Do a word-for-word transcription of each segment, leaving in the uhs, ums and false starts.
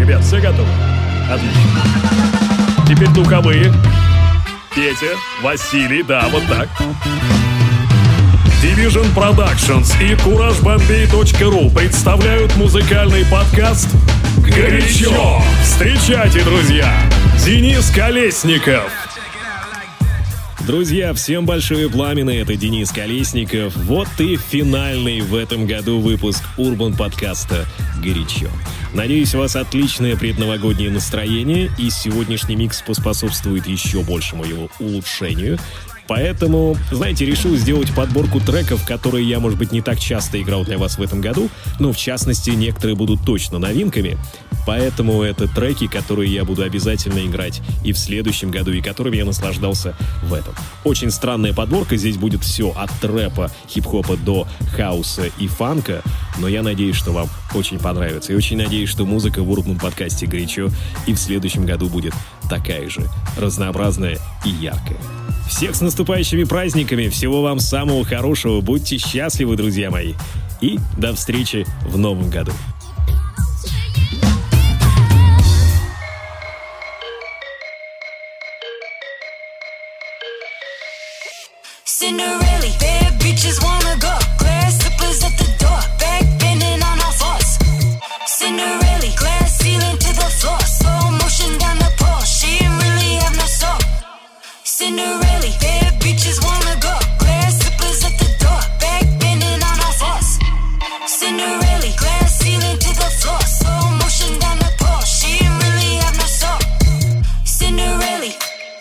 ребят, все готовы? Отлично. Теперь духовые. Петя, Василий, да, вот так. Division Productions и кураж бомбей точка ру представляют музыкальный подкаст «Горячо». Встречайте, друзья, Денис Колесников. Друзья, всем большое пламя, это Денис Колесников. Вот и финальный в этом году выпуск Урбан подкаста «Горячо». Надеюсь, у вас отличное предновогоднее настроение, и сегодняшний микс поспособствует еще большему его улучшению. Поэтому, знаете, решил сделать подборку треков, которые я, может быть, не так часто играл для вас в этом году, но, в частности, некоторые будут точно новинками. Поэтому это треки, которые я буду обязательно играть и в следующем году, и которыми я наслаждался в этом. Очень странная подборка, здесь будет все от трэпа, хип-хопа до хаоса и фанка, но я надеюсь, что вам очень понравится. И очень надеюсь, что музыка в Урбан подкасте «Горячо» и в следующем году будет такая же, разнообразная и яркая. Всех с наступающими праздниками, всего вам самого хорошего, будьте счастливы, друзья мои, и до встречи в новом году. Cinderella, bad bitches wanna go. Glass slippers at the door, back bending on all fours. Cinderella, glass ceiling to the floor, slow motion down the pole. She didn't really have no soul. Cinderella, bad bitches wanna go. Glass slippers at the door, back bending on all fours. Cinderella, glass ceiling to the floor, slow motion down the pole. She didn't really have no soul. Cinderella.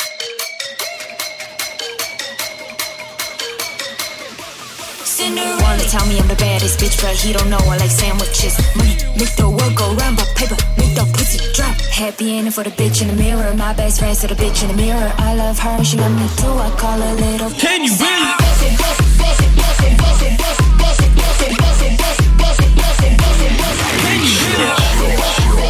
Wanna tell me I'm the baddest bitch, but he don't know I like sandwiches. Money make the world go round, but paper make the pussy drop. Happy ending for the bitch in the mirror. My best friend's to the bitch in the mirror. I love her, she love me too. I call her little. Can you really? Can you really?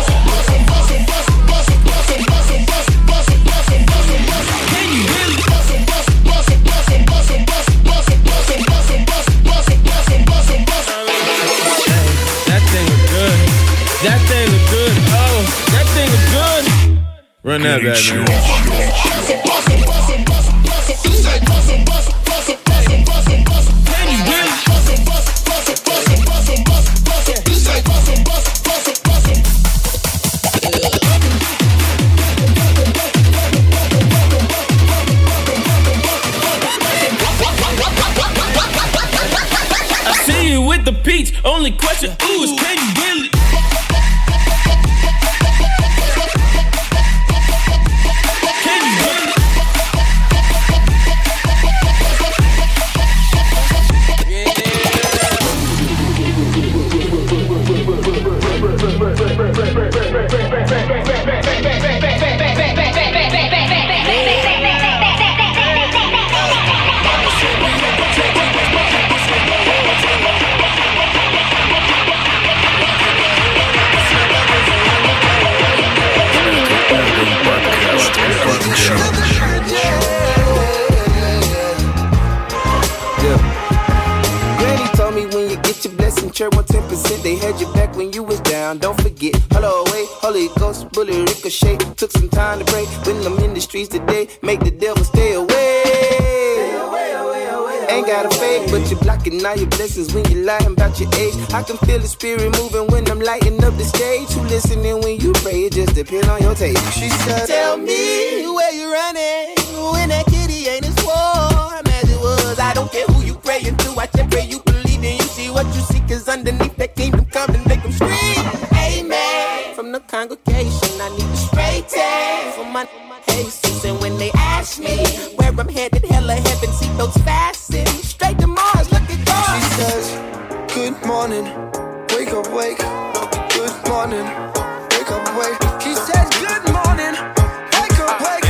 That thing look good. Oh, that thing look good. Run that back, man. I see you with the peach. Only question, ooh, is can you really? one ten percent, they had your back when you was down. Don't forget, hello, wait, Holy Ghost, bullet ricochet. Took some time to pray when I'm in the streets today. Make the devil stay away. Stay away, away, away. Ain't got a fake, but you're blocking all your blessings when you lying about your age. I can feel the spirit moving when I'm lighting up the stage. You listening when you pray, it just depends on your taste. She said, tell me where you running when that kitty ain't as warm as it was. I don't care who you praying to, I just pray you believe in you see what you see, cause underneath that kingdom come and make them scream amen. From the congregation I need the straight tag for my Jesus. And when they ask me where I'm headed, hell or heaven, see those fasten straight to Mars, look at God. She says, good morning, wake up, wake. Good morning, wake up, wake. She says, good morning, wake up, wake.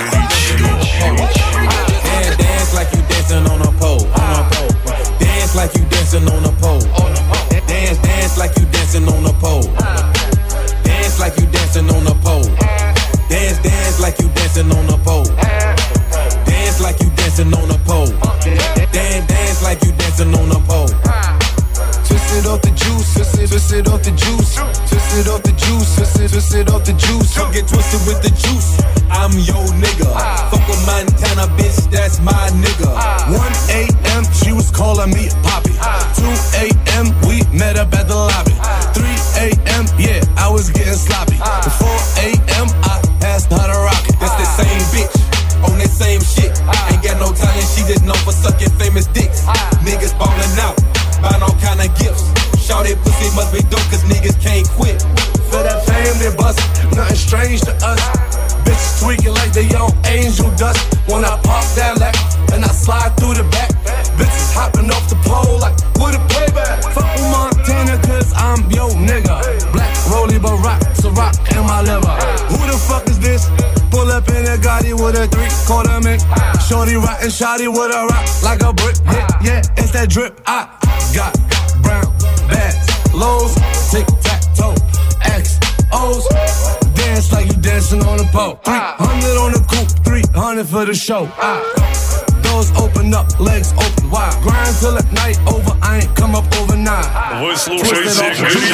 Dance, dance like you dancing on a pole, on a pole. Dance like you dancing on a pole. Dance, dance like you dancing on a pole. Dance like you dancing on a pole. Dance, dance like you dancing on a pole. Dance like you dancing on a pole. Dance, dance like you dancing on a pole. Twist it off the juice, twist it, twist it off the juice. Twist it off the juice, juice, twist it, twist it off the juice. Don't get twisted with the juice. I'm your nigga. Fuck with Montana, bitch, that's my nigga. one a.m. she was calling me Poppy. two a.m. we met up at the lobby. three a.m. yeah, I was getting sloppy. four a.m. I passed her the rocket. That's the same bitch on that same shit. Ain't got no talent, she just known for sucking famous dicks. Niggas ballin' out, buying all kind of gifts. Shout that pussy must be dope, cause niggas can't quit. For that fame, they bust, nothing strange to us. Bitches tweaking like they on angel dust. When I pop that lack, and I slide through the back. Bitches hopping off the pole like, what a playback. Fuck with Montana, cause I'm yo nigga. Black Rollie Barack, Ciroc in my liver. Who the fuck is this? Pull up in a Gotti with a three-quarter mink. Shorty rockin' shawty with a rock like a brick. Yeah, yeah, it's that drip. I got brown bags, lows, tic-tac-toe, X O's. Dance like you dancing on a pole. three hundred on the coupe, three hundred for the show. I, doors open up, legs open wide. Grind till at night over, I ain't come up overnight. Вы слушаете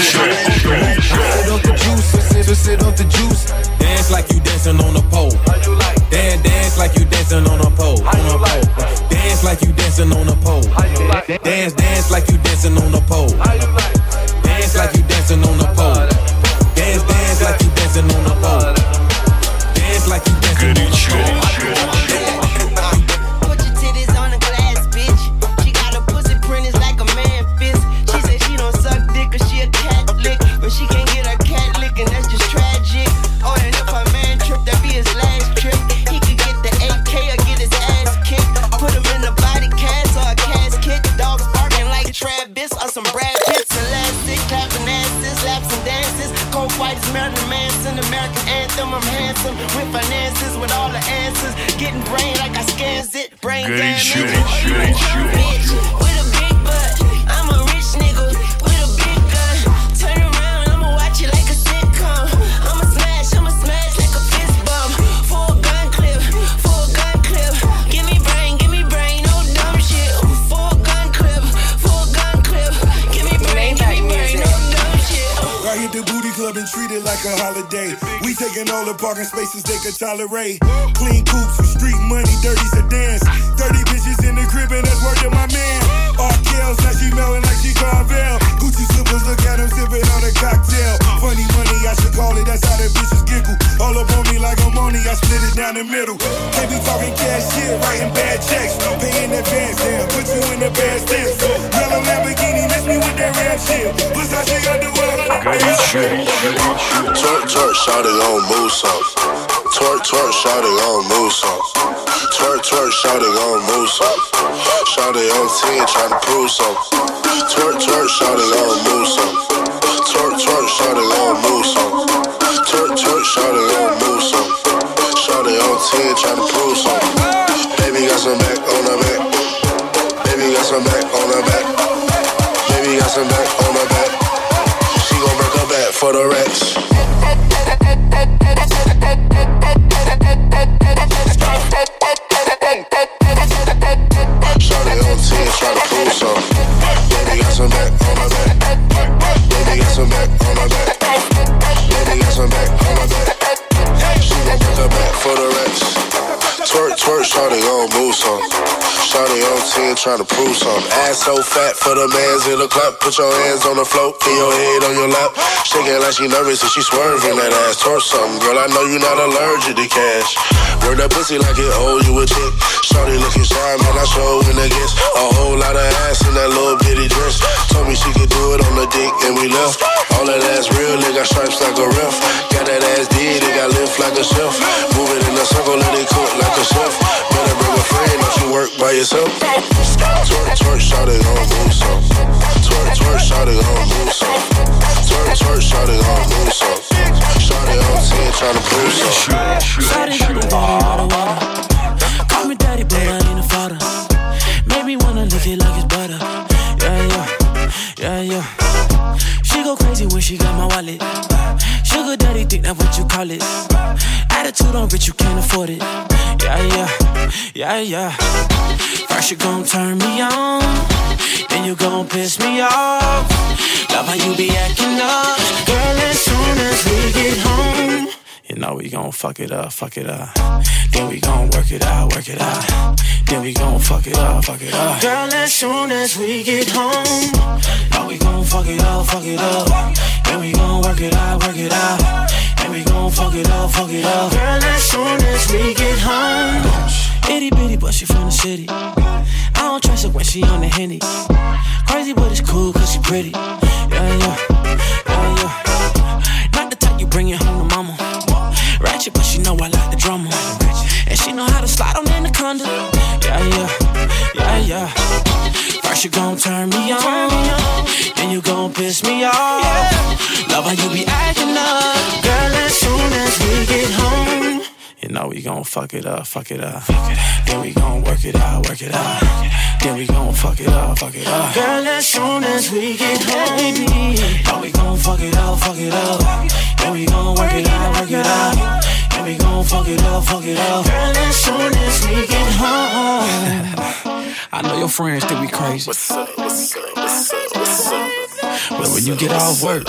Twist it off the juice. Dance like you dancing on a pole. Dance, dance like you dancing on a pole. On a pole. Dance like you dancing on a pole. Dance, dance like you dancing on a pole. Dance like you dancing on a pole. Dance, dance like you dancing on a pole. Dance like you dancing on a pole. Put your titties on the glass, bitch. She got her pussy printed like a man fist. She said she don't suck dick cause she a Catholic, but she can't get her cat lick and that's just tragic. Oh, and if her man tripped, that'd be his last trip. He could get the A K or get his ass kicked. Put him in a body cast or a casket. Dogs barking like Travis or some Brad Pitts. Elastic, clapping asses, laps and dances. Cold white is Marilyn Manson, American anthem. I'm handsome with finances, with all the answers. Getting brain like I scans it. Brain damage. Bitch with a big butt. I'm a rich nigga with a big gun. Turn around, I'ma watch it like a sitcom. I'ma smash, I'ma smash like a fist bump. Full gun clip, full gun clip. Give me brain, give me brain, no dumb shit. Full gun clip, full gun clip. Give me brain, give me brain, no dumb shit. I hit the booty club and treat it like a holiday. We taking all the parking spaces they could tolerate. Clean coupes with street money, dirty sedans. thirty bitches in the crib and that's word to my man. R. Kells, now she melting like she Carvel. Gucci slippers, look at him sipping on a cocktail. Funny money, I should call it, that's how the bitches giggle. All up on me like I'm money, I split it down the middle. Can't be talking cash shit, writing bad checks. Pay in advance, damn, put you in the bad stance. Yellow Lamborghini, miss me with that rap shit. Versace got the world. Twerk, twerk, shout it on move some. Twerk, twerk, shout it on move some. Twerk, twerk, shout it on move some. Shout it on ten, tryna prove some. Twerk, twerk, shout it on move some. Twerk, twerk, shout it on move some. Twerk, twerk, shout it on move some. Shout it on ten, tryna prove some. Baby got some back on her back. Baby got some back on her back. Baby got some back on her back. She gon' break her back for the racks. Shawty on ten, try to prove some. Baby got some back on my back. Baby got some back on my back. Baby got some back on my back. She gon' break her back for the racks. Twerk, twerk, shawty gon' move some. Shawty on ten, tryna prove some. Ass so fat for the mans in the clap. Put your hands on the floor, put your head on your lap. Shaking like she nervous and she swerving that ass. Twerk something, girl, I know you not allergic to cash. Work that pussy like it owes you a chick. Shawty looking shy, man, I show in against. A whole lot of ass in that little bitty dress. Told me she could do it on the dick and we left. All that ass real, it got stripes like a ref. Got that ass did, it got lift like a chef. Move it in a circle, let it cook like a chef. Better bring a friend, don't you work by yourself. Twerk, twerk, shawty gon' move some. Twerk, twerk, shawty gon' move some. Twerk, twerk, shawty gon' move some. Shawty on ten, tryna prove some. Shawty got the body out of water. Call me daddy, but I ain't a father. Make me wanna lick it like it's butter. Yeah, yeah, yeah, yeah. She go crazy when she got my wallet. Sugar daddy think that's what you call it. Attitude on rich, you can't afford it. Yeah, yeah, yeah, yeah. First you gon' turn me on, then you gon' piss me off. Love how you be acting up, girl. As soon as we get home, you know we gon' fuck it up, fuck it up. Then we gon' work it out, work it out. Then we gon' fuck it up, fuck it up. Girl, as soon as we get home, know we gon' fuck it up, fuck it up. Then we gon' work it out, work it out. And we gon' fuck it up, fuck it up. Girl, as soon as we get home, itty bitty, but she from the city. I don't trust her when she on the Henny. Crazy, but it's cool cause she pretty. Yeah, yeah, yeah, yeah. Not the type you bring it home to mama. Ratchet, but she know I like the drama. And she know how to slide on Anaconda. Yeah, yeah, yeah, yeah. First you gon' turn me on, then you gon' piss me off. Love how you be acting up, girl. As soon as we get home, you know we gon' fuck it up, fuck it up. Then we gon' work it out, work it out. Then we gon' fuck it up, fuck it up. Girl, as soon as we get home, baby, know we gon' fuck it up, fuck it up. Then we gon' work it out, work it out. Then we gon' fuck it up, fuck it up. Girl, as soon as we get home. I know your friends think we crazy. What's up, what's up, what's up, what's up? But when you get off work,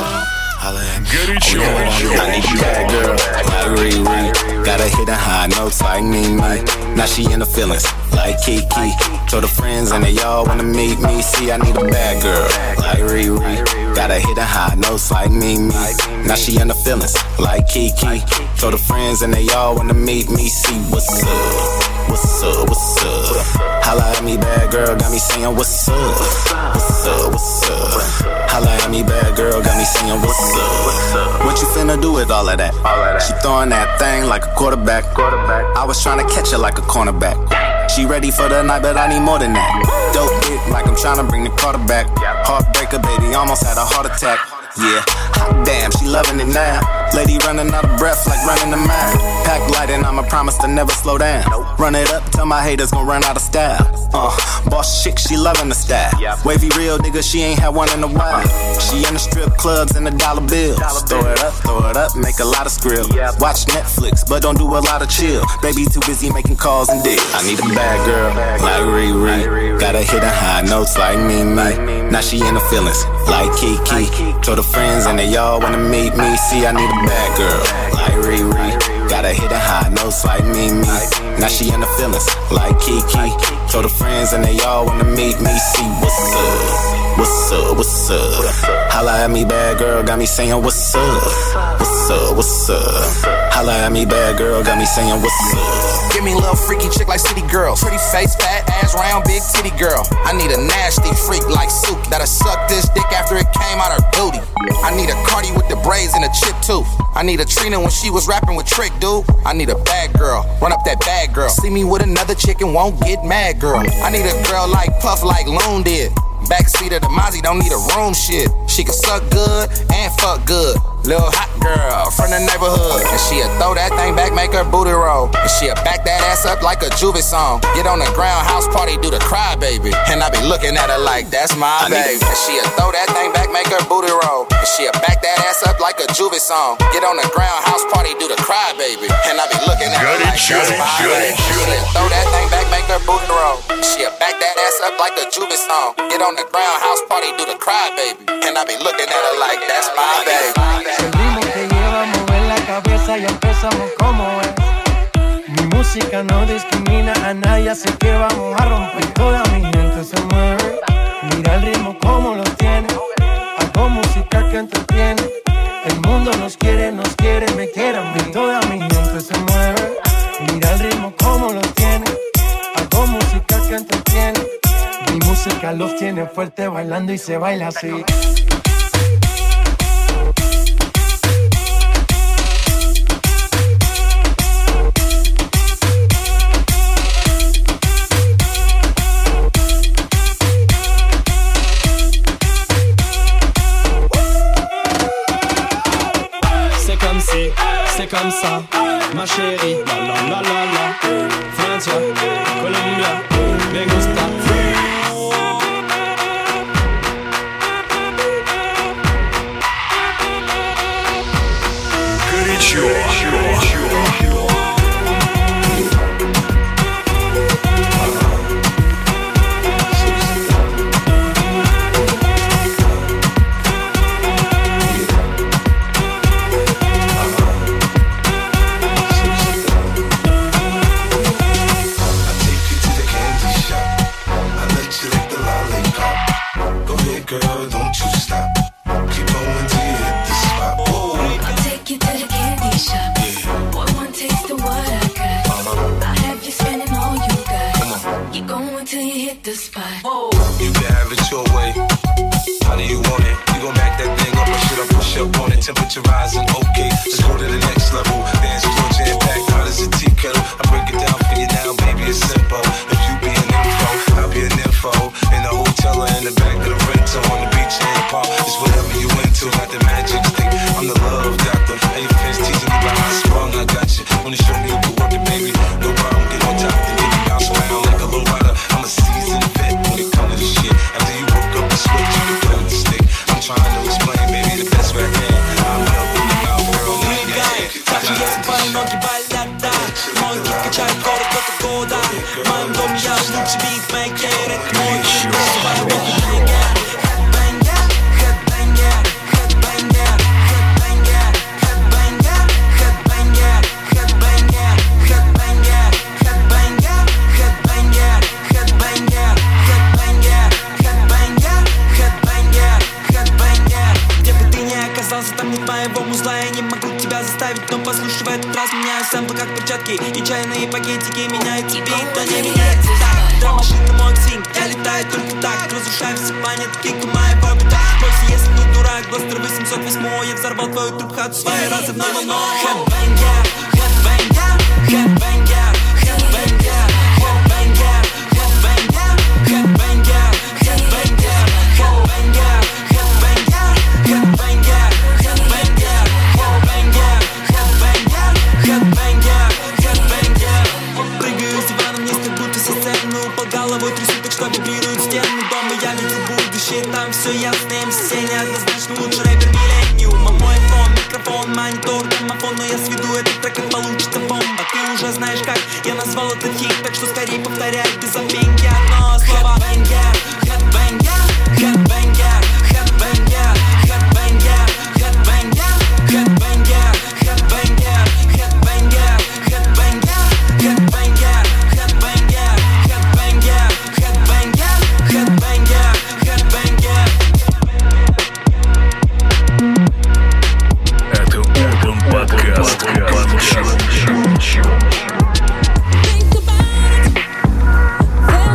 Горячо. I need you bad girl, like Riri. Got her hitting high notes like me, me. Now she in the feelings, like Kiki. Told her friends and they all wanna meet me. See, I need a bad girl, like Riri. Got her hitting high notes like me, me. Now she in the feelings, like Kiki. Told her friends and they all wanna meet me. See, what's up, what's up, what's up? Holla at me, bad girl, got me saying what's up, what's up, what's up? Holla at me, bad girl, got me saying what's up. What you finna do with all of that? She throwing that thing like a quarterback. I was trying to catch her like a cornerback. She ready for the night, but I need more than that. Dope dick like I'm trying to bring the quarterback. Heartbreaker, baby, almost had a heart attack. Yeah, hot damn, she loving it now. Lady running out of breath like running a mile. Pack light and I'ma promise to never slow down. Run it up, tell my haters gon' run out of style. Uh, boss chick, she loving the style. Wavy real nigga, she ain't had one in a while. She in the strip clubs and the dollar bills. Throw it up, throw it up, make a lot of skrill. Watch Netflix, but don't do a lot of chill. Baby too busy making calls and deals. I need a bad girl, like Riri. Got her hitting high notes like me, me. Now she in the feelings, like Kiki. Told her friends and they all wanna meet me. See, I need a bad girl, like Riri. Got her hitting high notes like me, me. Now she in the feelings, like Kiki. Told her friends and they all wanna meet me. See, what's up, what's up, what's up? Holla at me, bad girl, got me saying what's up, what's up, what's up? Holla at me, bad girl, got me saying what's up. Give me a little freaky chick like city girls. Pretty face, fat ass, round, big titty girl. I need a nasty freak like Suki that'll suck this dick after it came out her booty. I need a Cardi with the braids and a chip tooth. I need a Trina when she was rapping with Trick, dude. I need a bad girl, run up that bad girl. See me with another chick and won't get mad, girl. I need a girl like Puff, like Loon did. Backseat of the Mozzie, don't need a room shit. She can suck good and fuck good. Little hot girl from the neighborhood. And she'll throw that thing back, make her booty roll. And she'll back that ass up like a Juvie song. Get on the ground, house party, do the cry, baby. And I be looking at her like, that's my baby. And she'll throw that thing back, make her booty roll. And she'll back that ass up like a Juvie song. Get on the ground, house party, do the cry, baby. And I be looking at her like, that's my baby. She'll throw that thing back, make her booty roll. And she'll back that ass up like a Juvie song. Get on the ground, house party, do the cry, baby. And I be looking at her like, that's my baby. El ritmo que lleva a mover la cabeza y empezamos como es. Mi música no discrimina a nadie, así que vamos a romper. Toda mi gente se mueve. Mira el ritmo como lo tiene. Hago música que entretiene. El mundo nos quiere, nos quiere, me quiere a mí. Toda mi gente se mueve. Mira el ritmo como lo tiene. Hago música que entretiene. Mi música los tiene fuerte bailando y se baila así. C'est comme ça, ma chérie, la la la la la. Francia, Colombia, me gusta freeze. Горячо. temperature rising. Okay, let's go to the next level. Dance floor jam packed, hot as a tea kettle. I break it down for you now, baby, it's simple. If you be an info, I'll be an info. In the hotel or in the back of the rental, on the beach in the park, it's whatever you into. Got the magic stick, I'm the love doctor. Hey, fans teasing me about how sprung, I got you. Wanna show me you can work it, baby? No problem, get on top, then get you bounce around like a low rider. I'm a seasoned vet when it comes to this shit. After you woke up the switch, you can play with the stick. I'm trying to explain, baby, the best way I can. I'm up in your mouth, girl, now you got it. Каждый день твои ноги болят, да. Мой кик качает город в это года. В моем доме я лучший битмейкер. Это мой кик, просто твоя битмейкер. Headbanger, headbanger, headbanger, headbanger, headbanger, headbanger, headbanger, headbanger, headbanger, headbanger, headbanger, headbanger, headbanger, headbanger, headbanger. Где бы ты ни оказался, там нет моего музла. Я не могу тебя заставить, но послушай, в этот раз меняю сэмплы как перчатки. И чайные пакетики меняют бит, но не меняется так. Дра-машина мой свинг, я летаю только так. Разрушаю все планеты, кик моего бита. Бойся, если не дурак, Бластер восемьсот восемь. Я взорвал твою труб-хату своей разрывной волной. Headbanger, headbanger, headbanger, headbanger, headbanger, headbanger, headbanger, headbanger, headbanger, headbanger, headbanger, headbanger, headbanger, headbanger, headbanger, headbanger. Прыгаю с дивана вниз, как будто со сцены. Упал головой, трясу так, что вибрируют стены дома. Я видел будущее, там все ясно. эм си неоднозначно лучший рэпер миллениума. Мой фон, микрофон, монитор, домофон. Но я сведу этот трек, и получится бомба. Ты уже знаешь как, я назвал этот хит. Так что скорее повторяй без запинки одно слово. Headbanger, headbanger, headbanger, headbanger, headbanger, headbanger, headbanger, headbanger, headbanger, headbanger, headbanger, headbanger, headbanger, headbanger, headbanger, headbanger. Это Urban Podcast. Think about it.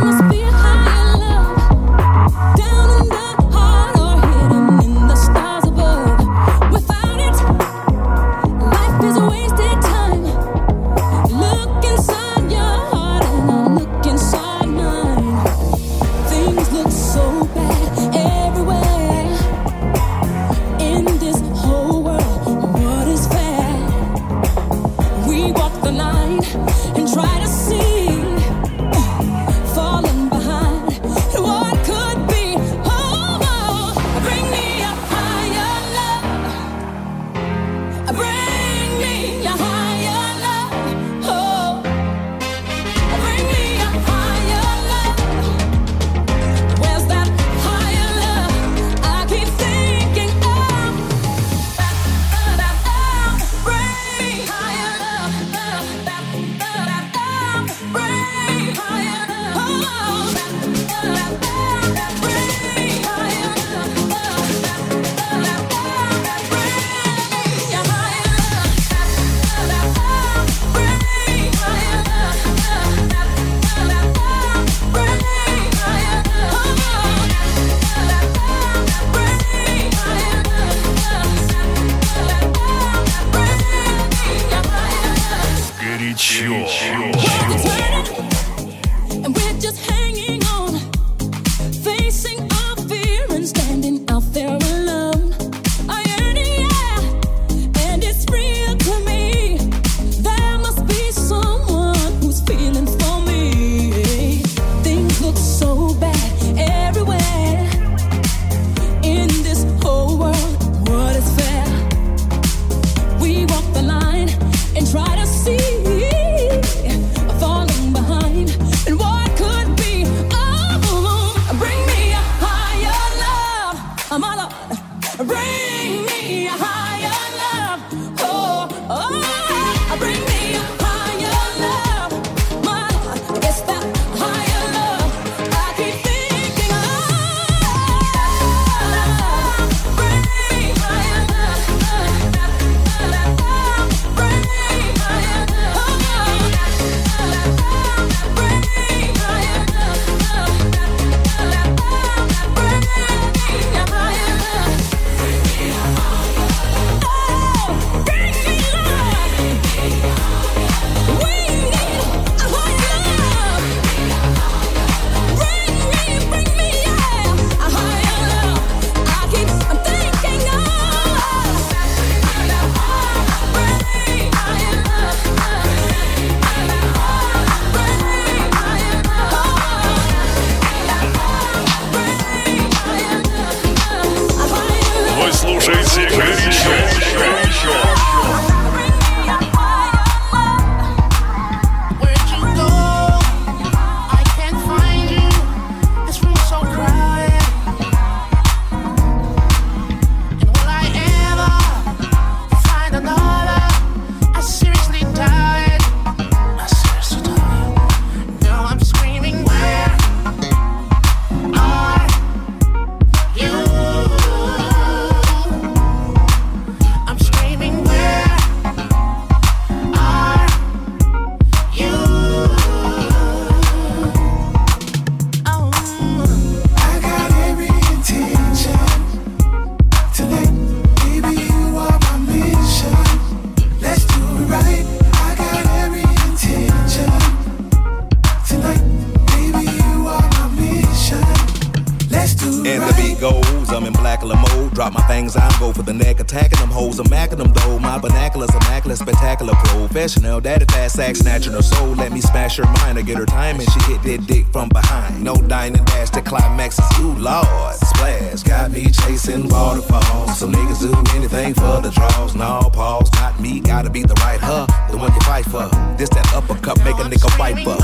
Drop my things, I go for the neck, attacking them hoes, I'm macking them though. My vernacular's immaculate, spectacular, professional. Daddy fast sack, snatching her soul. Let me smash her mind or get her time, and she hit that dick from behind. No dining dash, the climax is you, Lord. Splash, got me chasing waterfalls. Some niggas do anything for the draws. No pause, not me, gotta be the right her, the one you fight for. This that uppercut, make a nigga wipe up.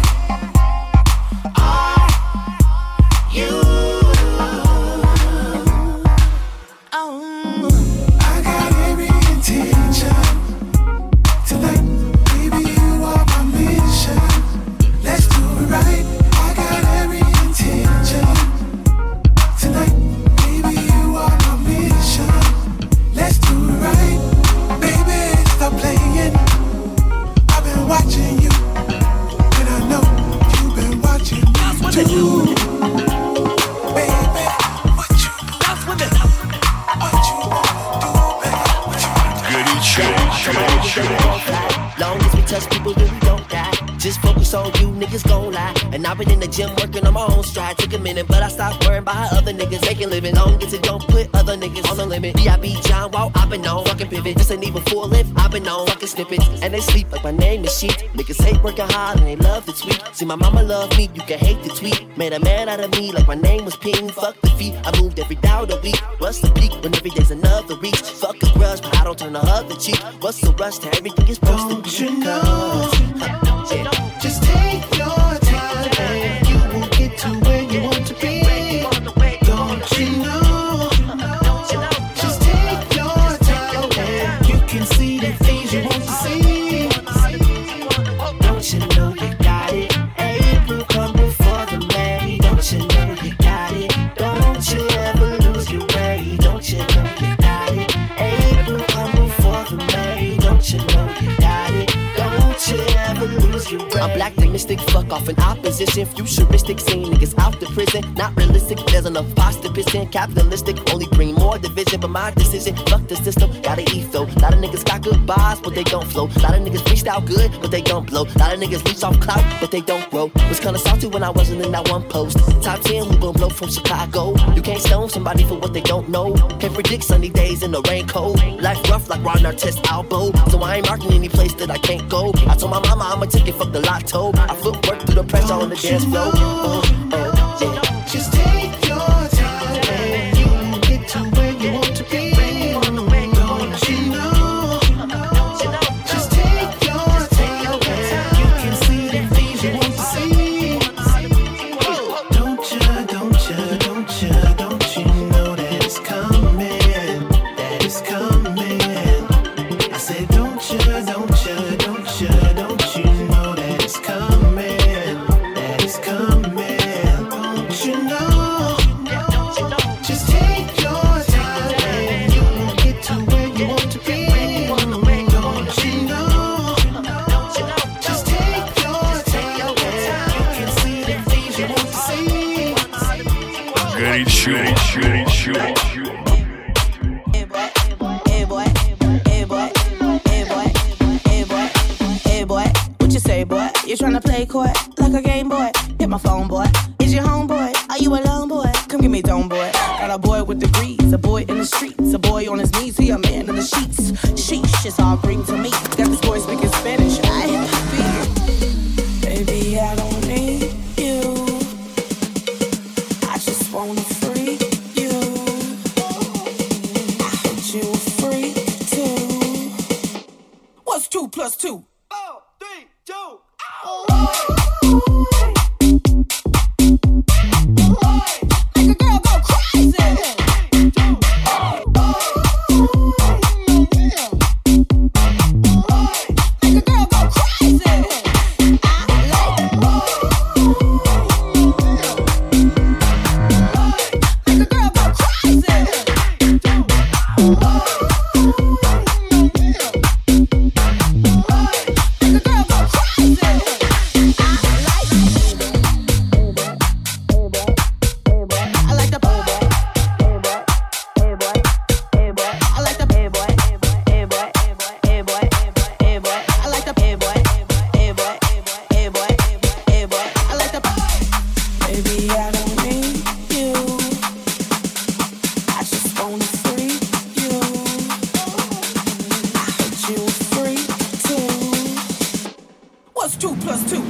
You And I've been in the gym working on my own stride. Took a minute, but I stopped worrying about how other niggas making living. Long as it don't put other niggas on the limit. B I B John Wall, I've been on fucking pivot. This ain't even full lift, I've been on fucking snippets. And they sleep like my name is Sheet. Niggas hate working hard and they love the tweet. See my mama love me, you can hate the tweet. Made a man out of me like my name was Ping. Fuck the feet, I moved every doubt a week. What's the peak when every day's another reach? Fuck a grudge, but I don't turn the other cheek. What's the rush to everything is supposed to be? Don't you know? Yeah. Just take your time and you will get to where you want to be. Don't you know? Just take your time and you can see the things you want to see. Don't you know you got it? April come before the May. Don't you know you got it? Don't you ever lose your way. Don't you know you got it? April come before the May. Don't you know you got it? Don't you ever lose your way. I'm black, they mystic, fuck off in opposition. Futuristic, seeing niggas out the prison. Not realistic, there's enough pasta pissing. Capitalistic, only bring more division. But my decision, fuck the system, gotta eat though. Lot of niggas got good bars, but they don't flow. Lot of niggas reached out good, but they don't blow. Lot of niggas reach off clout, but they don't grow. Was kinda salty when I wasn't in that one post. Top ten, who gon' blow from Chicago? You can't stone somebody for what they don't know. Can't predict sunny days in the rain cold. Life rough like Ron Artest elbow. So I ain't marking any place that I can't go. I told my mama I'm a ticket, fuck the lotto. I footwork through the pressure on the dance floor. Uh, uh, yeah. Just take your time and you will get to where you want to be. Don't you know? Just take your time and you can see the things you want to see. Don't you, don't you, don't you, don't you know that it's coming, that it's coming. I said don't you, don't you, don't you, don't you know that it's coming, that it's coming. Don't you know? Just take your time and you will get to where you want to be. Don't you know? Just take your time and you can see the things you want to see. Горячо, горячо, горячо. Hey boy, hey boy, hey boy, hey boy, hey boy, hey boy. What you say, boy? You tryna play coy like a game boy? Hit my phone, boy. Is your homeboy? Are you alone, boy? Come give me dome, boy. Got a boy with degrees, a boy in the streets, a boy on his knees, he a man in the sheets. Sheesh, it's all green to me. Got this boy speaking Spanish. I feel, baby, I don't need you. I just wanna freak you. I heard you a freak too. What's two plus two? Four, three, two. Make a girl go crazy. Make a girl go crazy. I like make a girl go crazy. Make a girl go crazy. two plus two.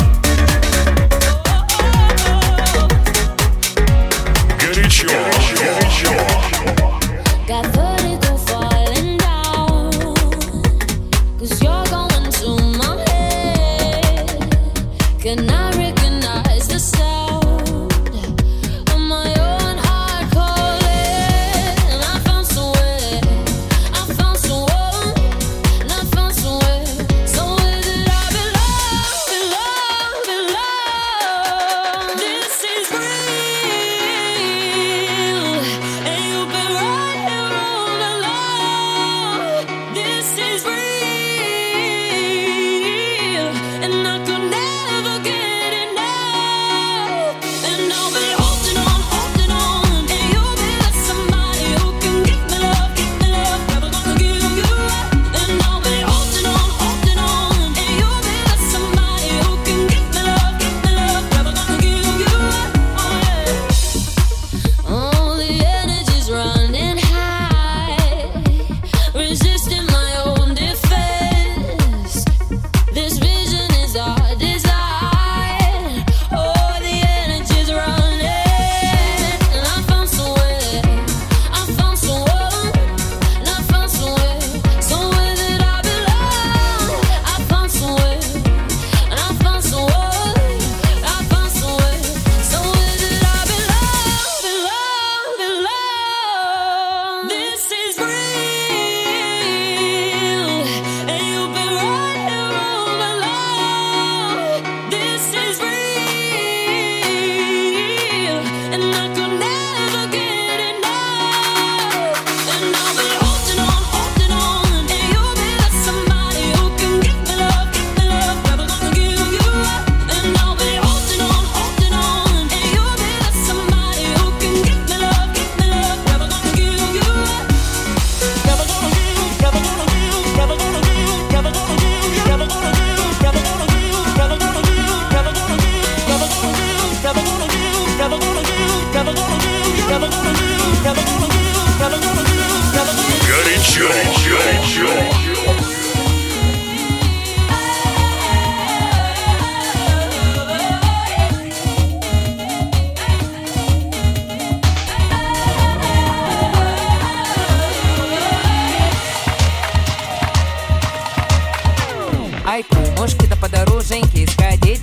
Горячо.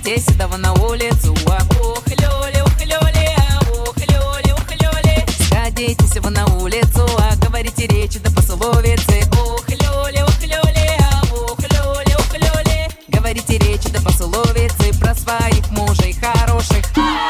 здесь, этого на улицу. Ух, лёли, ух, лёли, ух, лёли, ух, лёли. Сходитесь вы на улицу, а говорите речи да пословицы. Ух, лёли, ух, лёли, ух, лёли, ух, лёли. Говорите речи да пословицы про своих мужей хороших.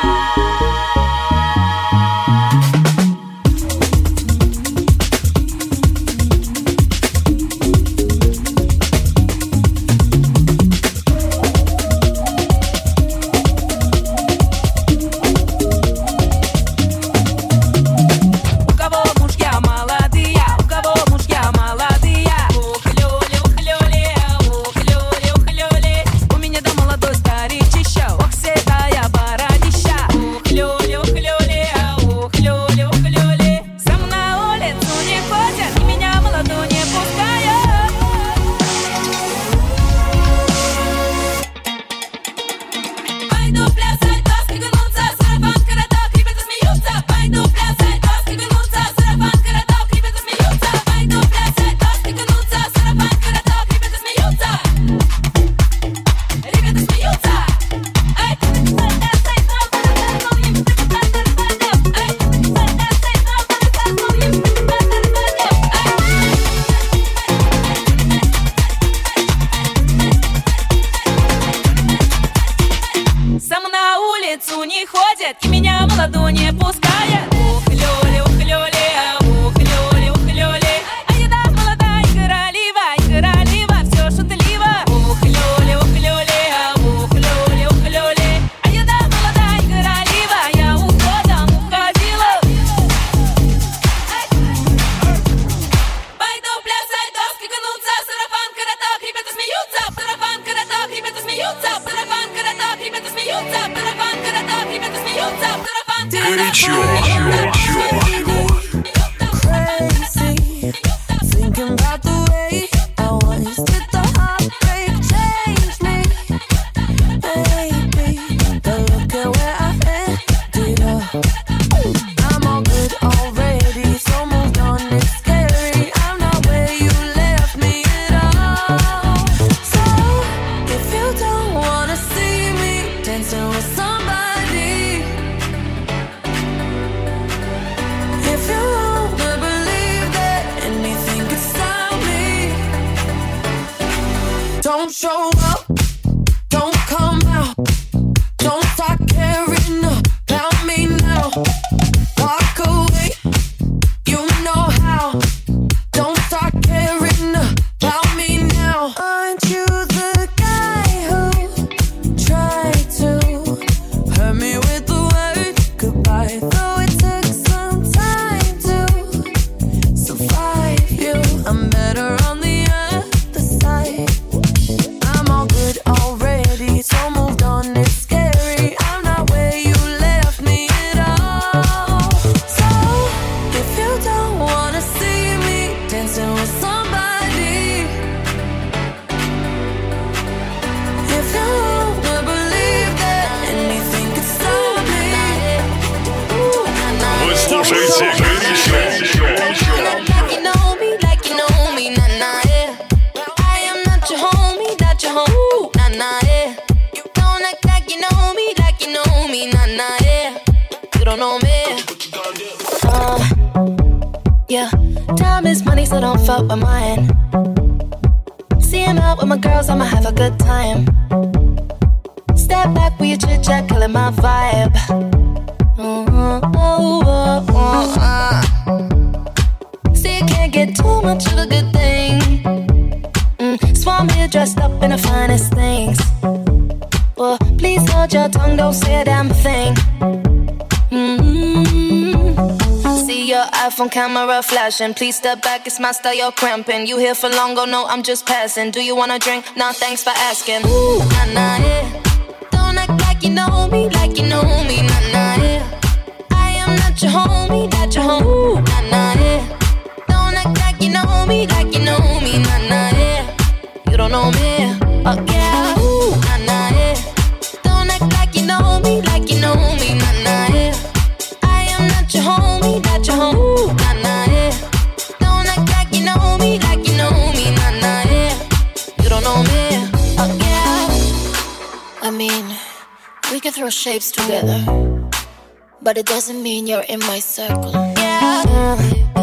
Camera flashing, please step back, it's my style, you're cramping. You here for long, oh no, I'm just passing. Do you wanna drink? Nah, thanks for asking. Ooh, nah, nah, yeah. Don't act like you know me, like you know me, nah, nah, yeah. I am not your homie, not your homie, ooh, nah, nah, yeah. Don't act like you know me, like you know me, nah, nah, yeah. You don't know me, oh yeah, ooh, nah, nah, yeah. Don't act like you know me, like you know me, nah, nah, yeah. I am not your homie, not your homie. I mean can throw shapes together, but it doesn't mean you're in my circle. Yeah.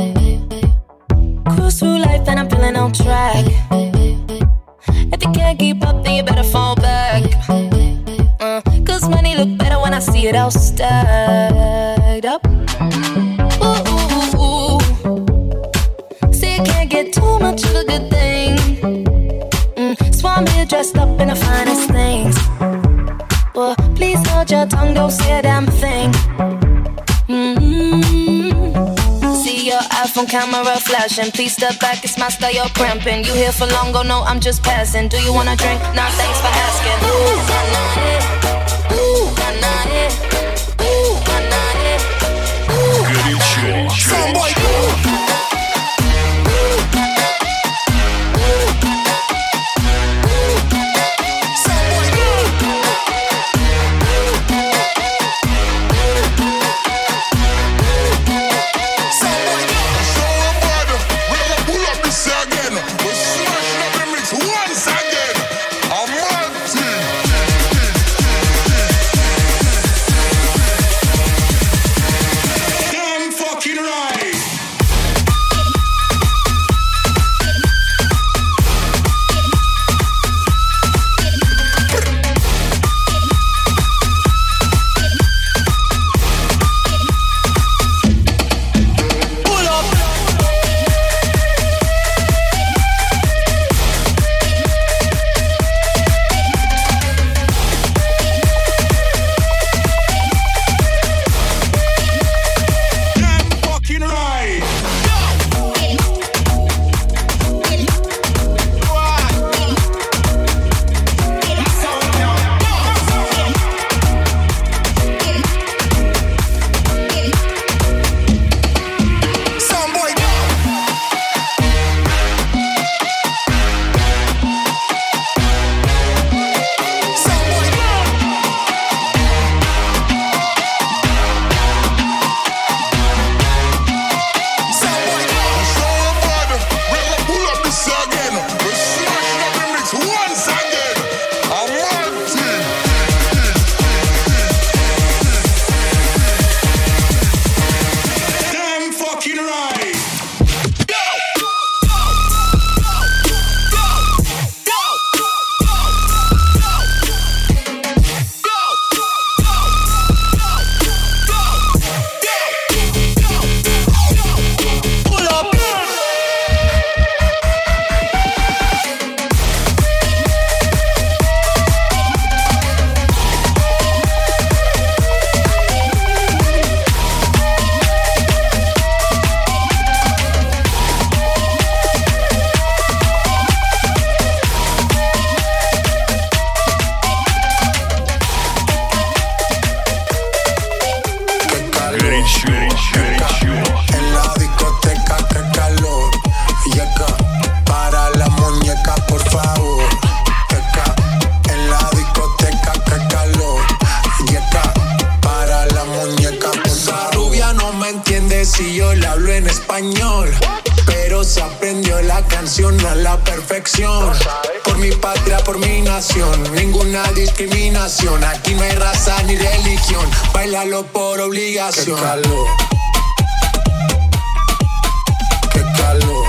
Cruise through life and I'm feeling on track. If you can't keep up, then you better fall back. Uh, Cause money look better when I see it all stacked up. Ooh, ooh, ooh. See, you can't get too much of a good thing. Mm, so I'm here dressed up in the finest things. Well, please hold your tongue, don't say a damn thing. Mm-hmm. See your iPhone camera flashing. Please step back, it's my style, you're cramping. You here for long, go no, I'm just passing. Do you wanna drink? Nah, thanks for asking. Ooh, nah, nah, eh. Ooh, nah, nah, eh. Ooh, nah, nah, eh. Ooh. Горячо. Somebody si yo le hablo en español, pero se aprendió la canción a la perfección. Por mi patria, por mi nación, ninguna discriminación. Aquí no hay raza ni religión, bailalo por obligación. Qué calor, qué calor,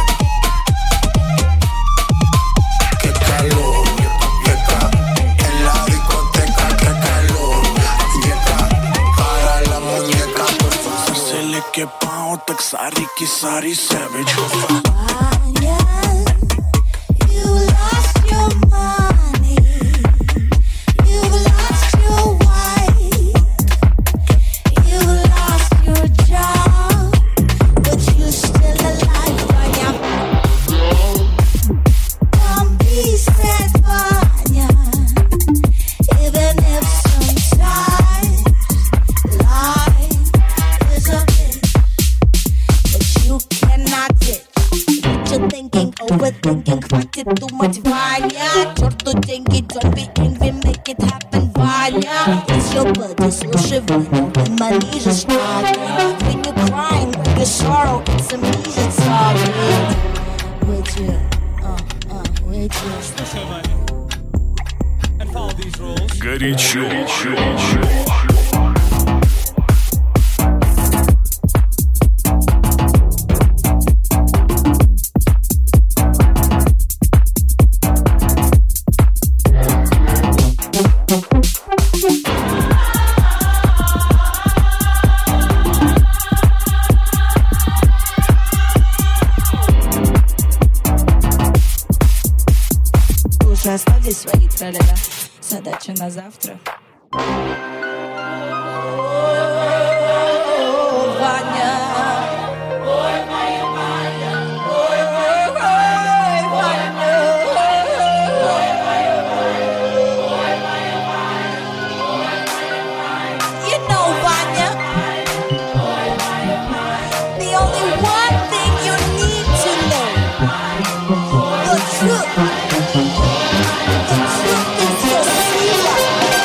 qué calor, qué calor. En la discoteca, qué calor, yeca, para la muñeca, por favor. Se le quepa o taxari, kisari, savage. Overthinking, crack it too much, Vanya. Chorto dengue, don't be angry, make it happen, Vanya. It's your birthday, so shivering, and my knees are struggling. When you're crying, when you're sorrow, it's amazing, sorry. With you, uh, uh, with you. Слушай, Ваня, and follow Горячо. Уже оставьте свои тра-ля-ля. Задача на завтра. Ваня. Ой, моя Ваня. Ой, ой, ой, Ваня. Ой, моя Ваня. Ой, моя Ваня. Ой, моя Ваня. You know, Vanya. The only one thing you need to know. The truth. The truth is your secret.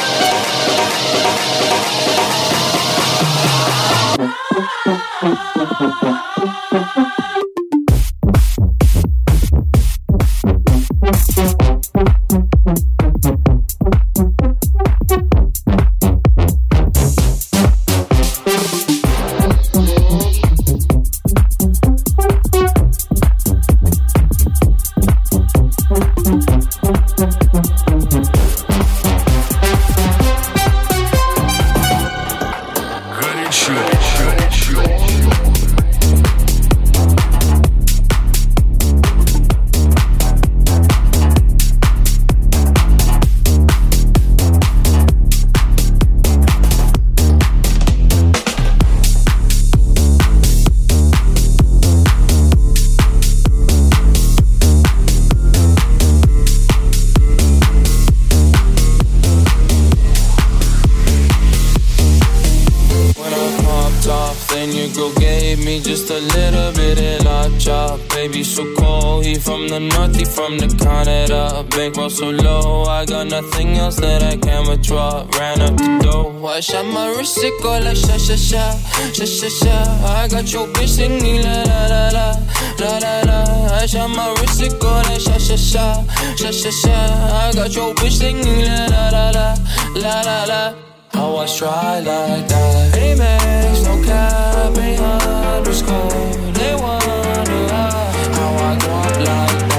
From the Canada, bankroll so low, I got nothing else that I can withdraw. Ran up the dough, I shot my wrist, it go like sha sha sha, sha sha sha. I got your bitch singing la la la la, la la la. I shot my wrist, it go like sha sha sha, sha sha sha. I got your bitch singing la la la la, la la la. How I try like that? Amex, no cap, ain't underscore. They wonder how I go up like that.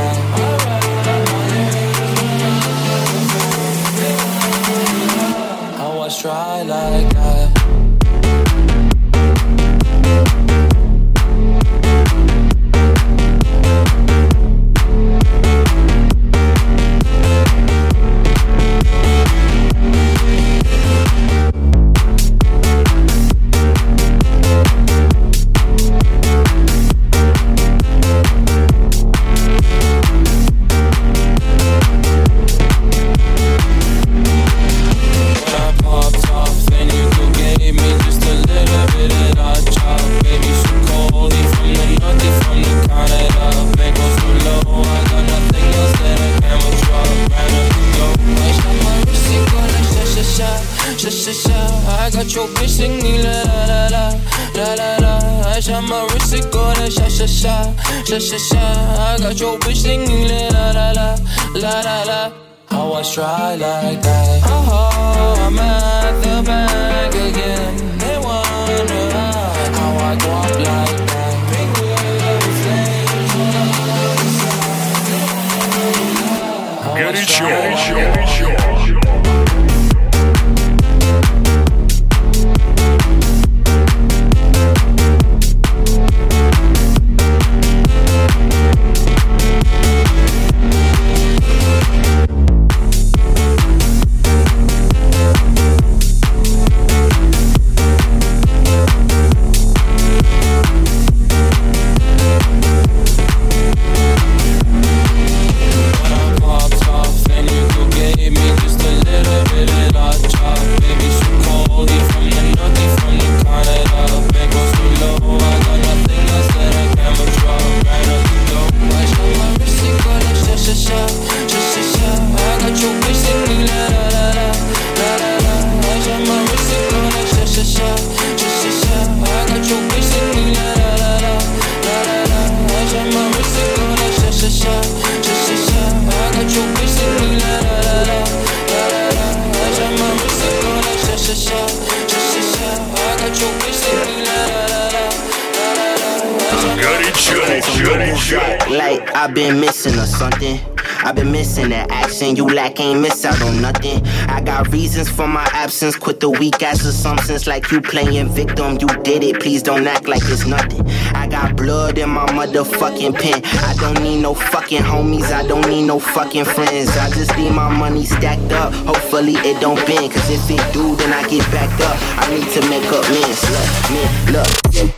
Try like that. I got your bitch singing la la la la, la la la. I shot my wrist, it go like sha sha sha, sha sha sha. I got your bitch singing la la la la, la la la. How I try like that? Oh, I'm at the bank again. They wonder how I go up like that. Big wheels, Горячо, горячо. Like I've been missing or something. I've been missing that action. You lack, ain't miss out on nothing. I got reasons for my absence. Quit the weak ass assumptions like you playing victim. You did it, please don't act like it's nothing. I got blood in my motherfucking pen. I don't need no fucking homies. I don't need no fucking friends. I just need my money stacked up. Hopefully it don't bend. Cause if it do, then I get backed up. I need to make up mens. Look, man, look.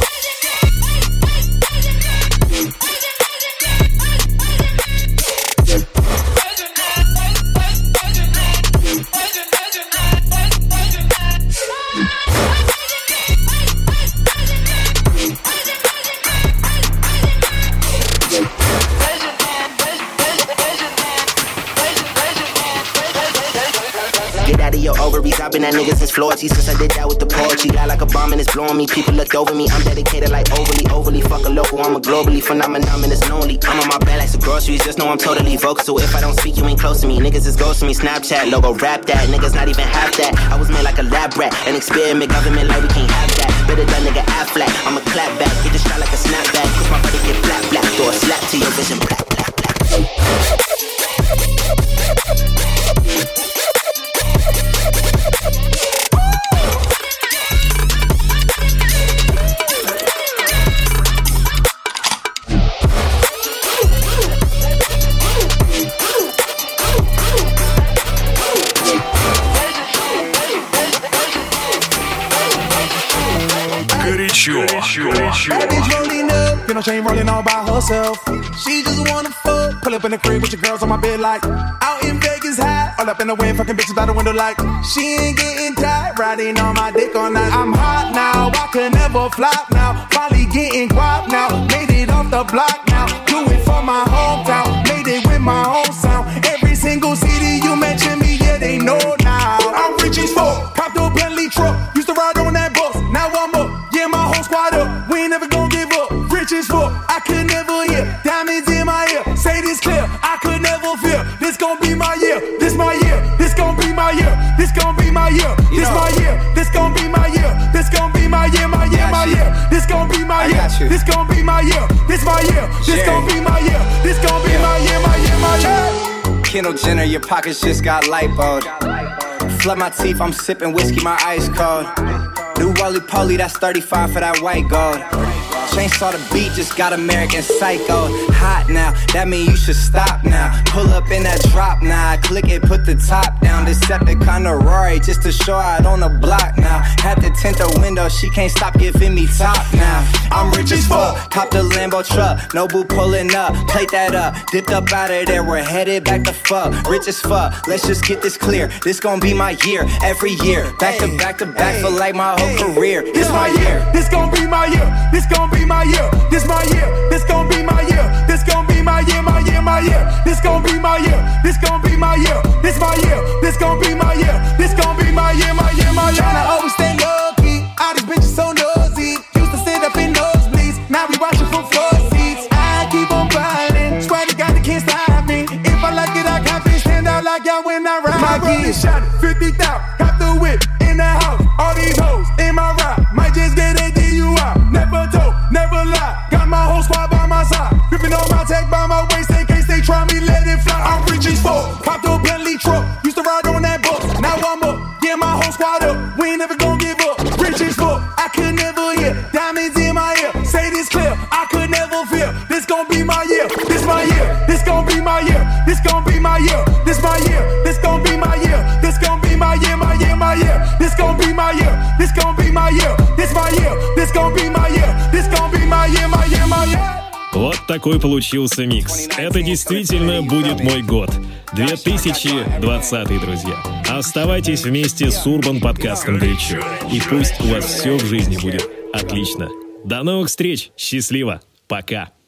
I've been that nigga since Florida, since I did that with the poetry. Got like a bomb and it's blowing me. People looked over me. I'm dedicated like overly, overly. Fuck a local, I'm a globally phenomenon and it's lonely. I'm on my bed like some groceries. Just know I'm totally vocal. So if I don't speak, you ain't close to me. Niggas is ghosting me. Snapchat logo, rap that. Niggas not even half that. I was made like a lab rat. An experiment government like we can't have that. Better that nigga act flat. I'm a clap back. Get the shot like a snapback. Cause my body get flat, black. Throw a slap to your vision. Black, black, black. That bitch rolling up, you know she ain't rolling all by herself. She just wanna fuck, pull up in the crib with your girls on my bed like out in Vegas high, all up in the wind, fucking bitches by the window like she ain't getting tired, riding on my dick all night. I'm hot now, I can never flop now, probably getting guap now, made it off the block now, do it for my hometown, made it with my own sound. Every single city you mention me, yeah they know now. I'm rich as fuck, copped a Bentley truck, used to ride on that bus, now I'm up. Yeah, my whole squad up. We ain't never gon' give up. Rich as fuck. I could never hear. Diamonds in my ear. Say this clear. I could never fear. This gon' be my year. This my year. This gon' be my year. This gon' be my year. This my year. This gon' be my year. This gon' be my year. My year. My year. This gon' be my year. This gon' be my year. This my year. This gon' be my year. This gon' be my year. My year. My year. Kendall Jenner, your pockets just got lipoed. Flood my teeth. I'm sipping whiskey. My eyes cold. New Wally Poly, that's thirty-five for that white gold. Chainsaw the beat, just got American Psycho. Hot now, that mean you should stop now. Pull up in that drop now, click it, put the top down. Decepticon or Rory, just to show out on the block now. Had to tint the window, she can't stop giving me top now. I'm rich as fuck, cop the Lambo truck. No boo pulling up, plate that up. Dipped up out of there, we're headed back to fuck. Rich as fuck, let's just get this clear. This gon' be my year, every year. Back to back to back for like my whole career. This my year, this gon' be my year. This gon' be my year. This my year. This gon' be my year. This gon' be my year. My year. My year. This gon' be my year. This gon' be my year. This my year. This gon' be my year. This gon' be my year. My year. My year. Tryna always stay low key. All these bitches so nosy. Used to sit up in nosebleeds. Now we watching from floor seats. I keep on ballin'. Swear to God they can't stop me. If I like it, I got bitch stand out like y'all when I ride. My gear shot it. fifty thousand. Got the whip in the house. All these hoes in my ride. Might just get a D U I. Never told, never lie. Got my whole squad by my side. Gripping on my tech by my waist in case they try me, let it fly. I'm rich as fuck. Copped a Bentley truck. Used to ride on that bus. Now I'm up. Yeah, my whole squad up. We ain't never gon' give up. Rich as fuck. I could never hear. Diamonds in my ear. Say this clear. I could never fear. This gon' be my year. This my year. This gon' be my year. This gon' be my year. This my year. This gon' be my year. This gon' be my year. My year. My year. This gon' be my year. This gon' be my year. This my year. This gon' be my year. This gon' be my year. My year. My year. Вот такой получился микс. Это действительно будет мой год. две тысячи двадцатый, друзья. Оставайтесь вместе с Урбан подкастом горячо. И пусть у вас все в жизни будет отлично. До новых встреч. Счастливо. Пока.